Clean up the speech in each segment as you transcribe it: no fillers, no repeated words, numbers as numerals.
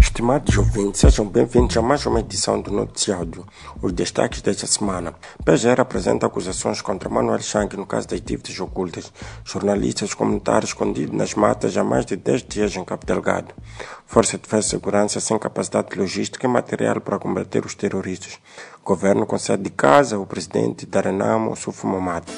Estimados ouvintes, sejam bem-vindos a mais uma edição do Noticiário. Os destaques desta semana. PGR apresenta acusações contra Manuel Chang no caso das dívidas ocultas. Jornalistas comunitários escondidos nas matas há mais de 10 dias em Cabo Delgado. Força de Defesa e Segurança sem capacidade logística e material para combater os terroristas. Governo concede de casa ao presidente da Renamo, Sufo Momad.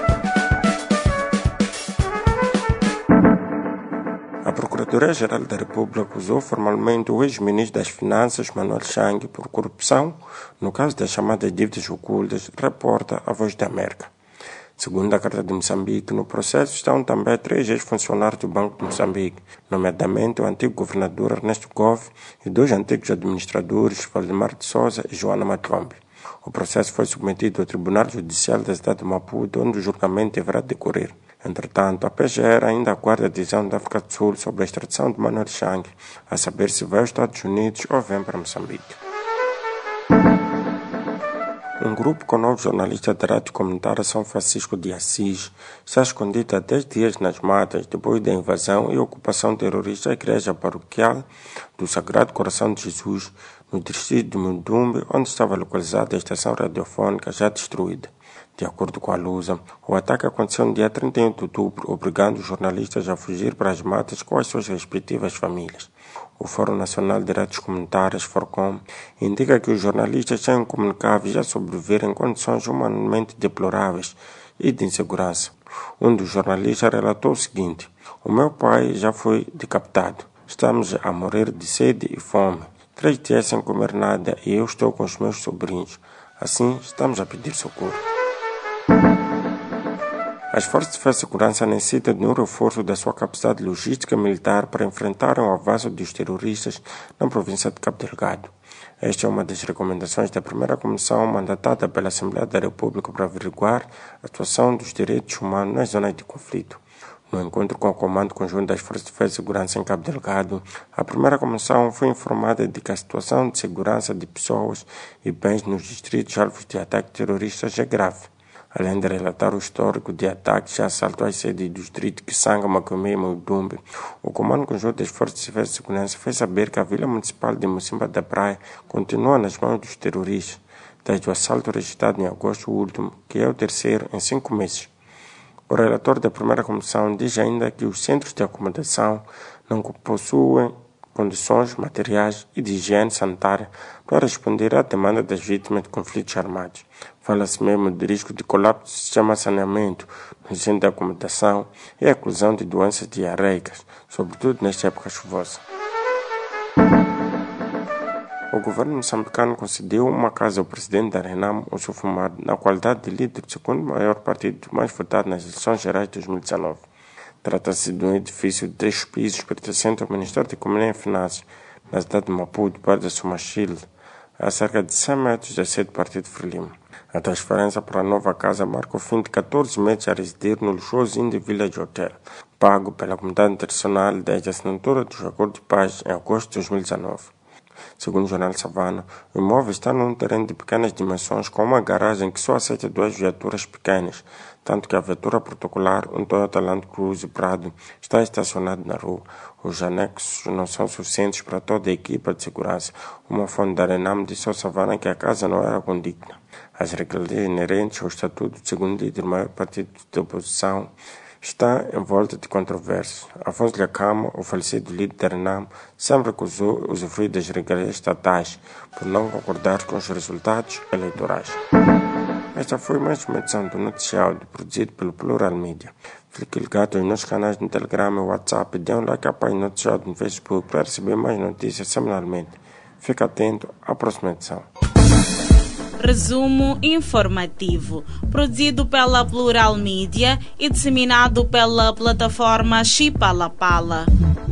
A Procuradoria-Geral da República acusou formalmente o ex-ministro das Finanças, Manuel Chang, por corrupção no caso das chamadas dívidas ocultas, reporta a Voz da América. Segundo a Carta de Moçambique, no processo estão também 3 ex-funcionários do Banco de Moçambique, nomeadamente o antigo governador Ernesto Goff e 2 antigos administradores, Valdemar de Souza e Joana Matombe. O processo foi submetido ao Tribunal Judicial da cidade de Maputo, onde o julgamento deverá decorrer. Entretanto, a PGR ainda aguarda a decisão da África do Sul sobre a extradição de Manuel Chang, a saber se vai aos Estados Unidos ou vem para Moçambique. Um grupo com 9 jornalistas da rádio comunitária São Francisco de Assis está escondido há 10 dias nas matas depois da invasão e ocupação terrorista da igreja paroquial do Sagrado Coração de Jesus, no distrito de Mundumbe, onde estava localizada a estação radiofônica já destruída. De acordo com a Lusa, o ataque aconteceu no dia 31 de outubro, obrigando os jornalistas a fugir para as matas com as suas respectivas famílias. O Fórum Nacional de Rádios Comunitárias, FORCOM, indica que os jornalistas são incomunicáveis a sobreviver em condições humanamente deploráveis e de insegurança. Um dos jornalistas relatou o seguinte: "O meu pai já foi decapitado. Estamos a morrer de sede e fome. 3 dias sem comer nada e eu estou com os meus sobrinhos. Assim, estamos a pedir socorro." As Forças de Defesa e Segurança necessitam de um reforço da sua capacidade logística militar para enfrentar o avanço dos terroristas na província de Cabo Delgado. Esta é uma das recomendações da primeira comissão mandatada pela Assembleia da República para averiguar a situação dos direitos humanos nas zonas de conflito. No encontro com o Comando Conjunto das Forças de Defesa e Segurança em Cabo Delgado, a primeira comissão foi informada de que a situação de segurança de pessoas e bens nos distritos alvos de ataques terroristas é grave. Além de relatar o histórico de ataques e assaltos às sedes do distrito Kisanga, Macomé e Mundumbe, o Comando Conjunto das Forças de Defesa e Segurança fez saber que a Vila Municipal de Mocimboa da Praia continua nas mãos dos terroristas, desde o assalto registrado em agosto último, que é o terceiro em 5 meses. O relator da primeira comissão diz ainda que os centros de acomodação não possuem condições materiais e de higiene sanitária para responder à demanda das vítimas de conflitos armados. Fala-se mesmo de risco de colapso do sistema de saneamento no centro de acomodação e a eclosão de doenças diarreicas, sobretudo nesta época chuvosa. O governo moçambicano concedeu uma casa ao presidente da Renamo, o Sufo Momad, na qualidade de líder do segundo maior partido mais votado nas eleições gerais de 2019. Trata-se de um edifício de 3 pisos pertencente ao Ministério da Economia e Finanças, na cidade de Maputo, perto da Sumachile, a cerca de 100 metros da sede do Partido Frelimo. A transferência para a nova casa marca o fim de 14 meses a residir no luxuoso Indie Village Hotel, pago pela comunidade internacional desde a assinatura dos acordos de paz em agosto de 2019. Segundo o jornal Savana, o imóvel está num terreno de pequenas dimensões com uma garagem que só aceita 2 viaturas pequenas, tanto que a viatura protocolar, um Toyota Land Cruiser Prado, está estacionada na rua. Os anexos não são suficientes para toda a equipa de segurança. Uma fonte da Renamo disse ao Savana que a casa não era condigna. As regras inerentes ao estatuto do segundo líder do maior partido de oposição está em volta de controvérsias. Afonso Lhakama, o falecido líder da Renamo, sempre recusou usufruir das regalias estatais por não concordar com os resultados eleitorais. Esta foi mais uma edição do Noticiário produzido pelo Plural Media. Fique ligado aos nossos canais no Telegram e WhatsApp e dê um like à página Noticiário no Facebook para receber mais notícias semanalmente. Fique atento à próxima edição. Resumo informativo, produzido pela Plural Media e disseminado pela plataforma Chipalapala.